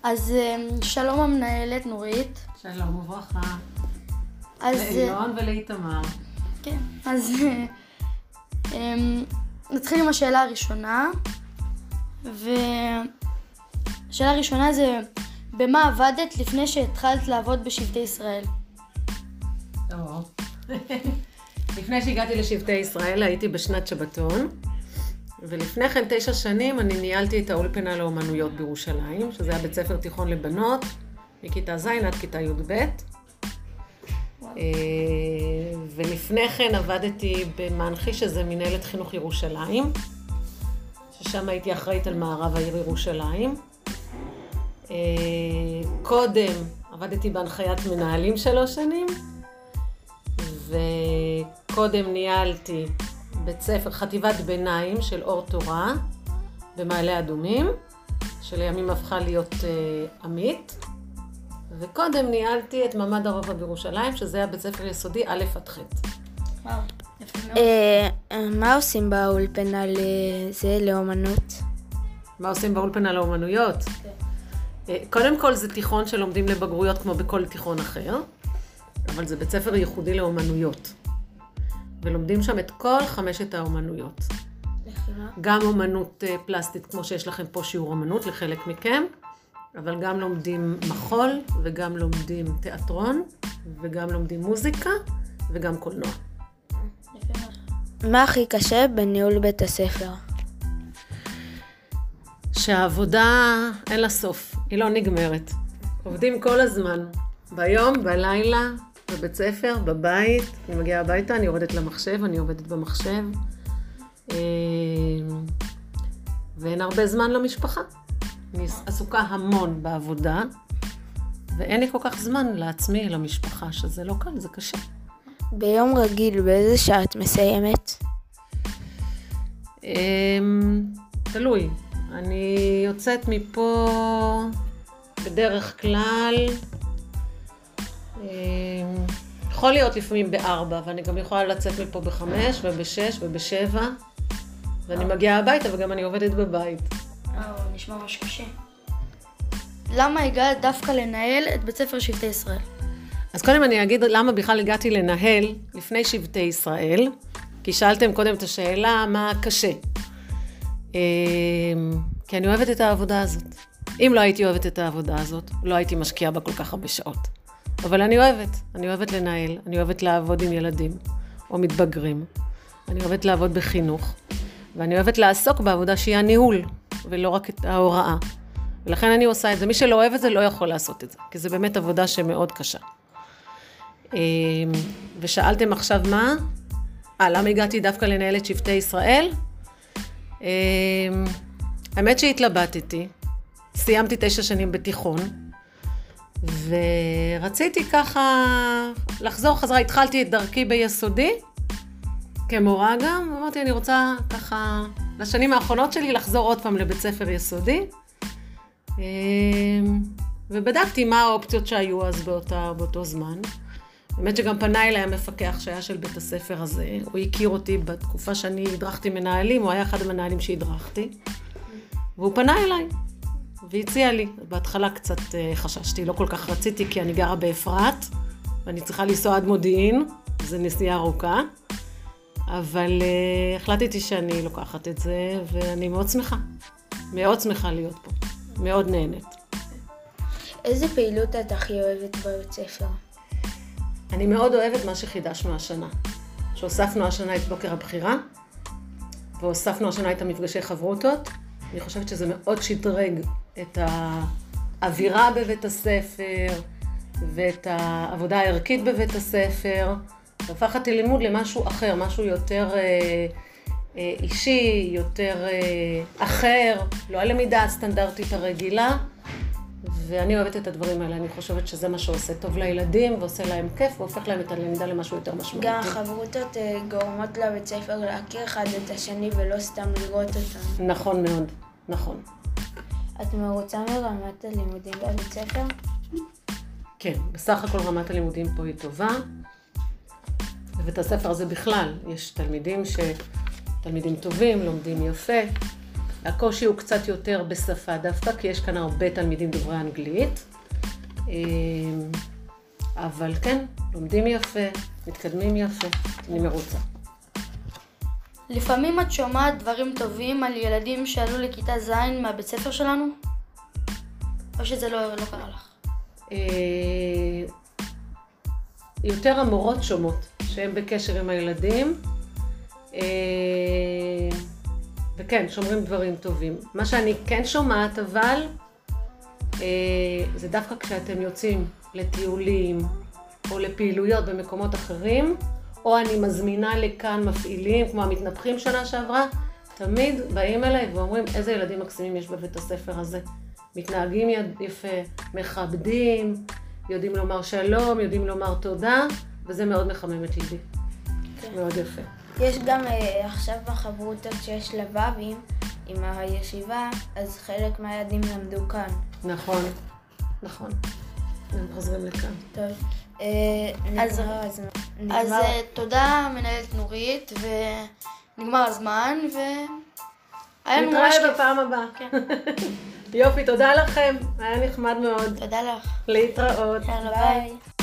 אז שלום המנהלת נורית. שלום וברכה. אז לאילון ולאיתמר. כן, אז נתחיל עם השאלה הראשונה. והשאלה הראשונה זה, במה עבדת לפני שהתחלת לעבוד בשבטי ישראל? לפני שהגעתי לשבטי ישראל הייתי בשנת שבתון, ולפני כן 9 שנים אני ניהלתי את האולפנה לאומנויות בירושלים, שזה היה בית ספר תיכון לבנות, מכיתה ז' עד כיתה י"ב. ולפני כן עבדתי במנחי, שזה מנהלת חינוך ירושלים, ששם הייתי אחראית על מערב העיר ירושלים. קודם עבדתי בהנחיית מנהלים 3 שנים, וקודם ניהלתי בית ספר חטיבת ביניים של אור תורה במעלה אדומים, שלימים הפכה להיות עמית, וקודם ניהלתי את ממד הרובע בירושלים, שזה היה בית ספר יסודי א' עד ח'. וואו, יפה מאוד. מה עושים באולפנה לזה, לאומנות? מה עושים באולפנה לאומנויות? קודם כל זה תיכון שלומדים לבגרויות כמו בכל תיכון אחר, אבל זה בית ספר ייחודי לאומנויות. ולומדים שם את כל 5 האומנויות. לחימה? גם אומנות פלסטית, כמו שיש לכם פה שיעור אומנות לחלק מכם, אבל גם לומדים מחול, וגם לומדים תיאטרון, וגם לומדים מוזיקה, וגם קולנוע. יפה מאוד. מה הכי קשה בניהול בית הספר? שהעבודה אין לה סוף, היא לא נגמרת. עובדים כל הזמן, ביום, בלילה, בבית ספר, בבית. אני מגיעה הביתה, אני יורדת למחשב, אני עובדת במחשב. ואין הרבה זמן למשפחה. אני עסוקה המון בעבודה, ואין לי כל כך זמן לעצמי, למשפחה, שזה לא קל, זה קשה. ביום רגיל, באיזה שעה את מסיימת? תלוי. אני יוצאת מפה בדרך כלל, יכול להיות לפעמים ב-4, ואני גם יכולה לצאת מפה ב-5 וב-6 וב-7, ואני מגיעה הביתה וגם אני עובדת בבית. נשמע ממש קשה. למה הגעת דווקא לנהל את בית ספר שבטי ישראל? אז קודם אני אגיד למה בכלל הגעתי לנהל לפני שבטי ישראל, כי שאלתם קודם את השאלה מה קשה. כי אני אוהבת את העבודה הזאת. אם לא הייתי אוהבת את העבודה הזאת, לא הייתי משקיעה בה כל כך הרבה שעות. אבל אני אוהבת לנהל, אני אוהבת לעבוד עם ילדים או מתבגרים. אני אוהבת לעבוד בחינוך, ואני אוהבת לעסוק בעבודה שהיא הניהול, ולא רק את ההוראה. ולכן אני עושה את זה. מי שלא אוהב את זה לא יכול לעשות את זה, כי זה באמת עבודה שמאוד קשה. ושאלתם עכשיו מה? למה הגעתי דווקא לנהל את שבטי ישראל? האמת שהתלבטתי, סיימתי 9 שנים בתיכון, ורציתי ככה לחזור חזרה, התחלתי את דרכי ביסודי, כמורה גם, ואמרתי אני רוצה ככה לשנים האחרונות שלי לחזור עוד פעם לבית ספר יסודי, ובדקתי מה האופציות שהיו אז באותו זמן. באמת שגם פנה אליי המפקח שהיה של בית הספר הזה, הוא הכיר אותי בתקופה שאני הדרכתי מנהלים, הוא היה אחד המנהלים שהדרכתי, והוא פנה אליי והציע לי. בהתחלה קצת חששתי, לא כל כך רציתי כי אני גרה באפרת, ואני צריכה לנסוע עד מודיעין, זה נסיעה ארוכה, אבל החלטתי שאני לוקחת את זה, ואני מאוד שמחה להיות פה, מאוד נהנית. איזה פעילות את הכי אוהבת בבית ספר? אני מאוד אוהבת מה שחידשנו השנה, שהוספנו השנה את בוקר הבחירה, והוספנו השנה את המפגשי חברותות. אני חושבת שזה מאוד שדרג את האווירה בבית הספר, ואת העבודה הערכית בבית הספר, והפך את הלימוד למשהו אחר, משהו יותר אישי, יותר אחר, לא הלמידה הסטנדרטית הרגילה, ואני אוהבת את הדברים האלה. אני חושבת שזה מה שעושה טוב לילדים, ועושה להם כיף, והופך להם את הלמידה למשהו יותר משמעותי. גם החברותות גורמות לבית ספר להכיר אחד את השני, ולא סתם לראות אותם. נכון מאוד, נכון. את מרוצה מרמת הלימודים בבית ספר? כן, בסך הכל רמת הלימודים פה היא טובה. בבית הספר הזה בכלל יש תלמידים טובים, לומדים יפה, הקושי הוא קצת יותר בשפה דווקא, כי יש כאן הרבה תלמידים דוברי אנגלית. אבל כן, לומדים יפה, מתקדמים יפה, אני מרוצה. לפעמים את שומעת דברים טובים על ילדים שעלו לכיתה ז' מהבית ספר שלנו? או שזה לא קרה לך? יותר המורות שומעות שהן בקשר עם הילדים, וכן, שומרים דברים טובים. מה שאני כן שומעת אבל, זה דווקא כשאתם יוצאים לטיולים או לפעילויות במקומות אחרים, או אני מזמינה לכאן מפעילים, כמו המתנפחים שנה שעברה, תמיד באים אליי ואומרים איזה ילדים מקסימים יש בבית הספר הזה. מתנהגים יפה, מכבדים, יודעים לומר שלום, יודעים לומר תודה, וזה מאוד מחמם את ליבי. כן. מאוד יפה. יש גם עכשיו בחברותות שיש לבבים עם הישיבה, אז חלק מהילדים למדו כאן. נכון, נכון. הם חוזרים לכאן. טוב. אז תודה מנהלת נורית, ונגמר הזמן, והיה לנו ממש כיף. נתראה בפעם הבאה. כן. יופי, תודה לכם, היה נחמד מאוד. תודה לך. להתראות. יאללה, ביי.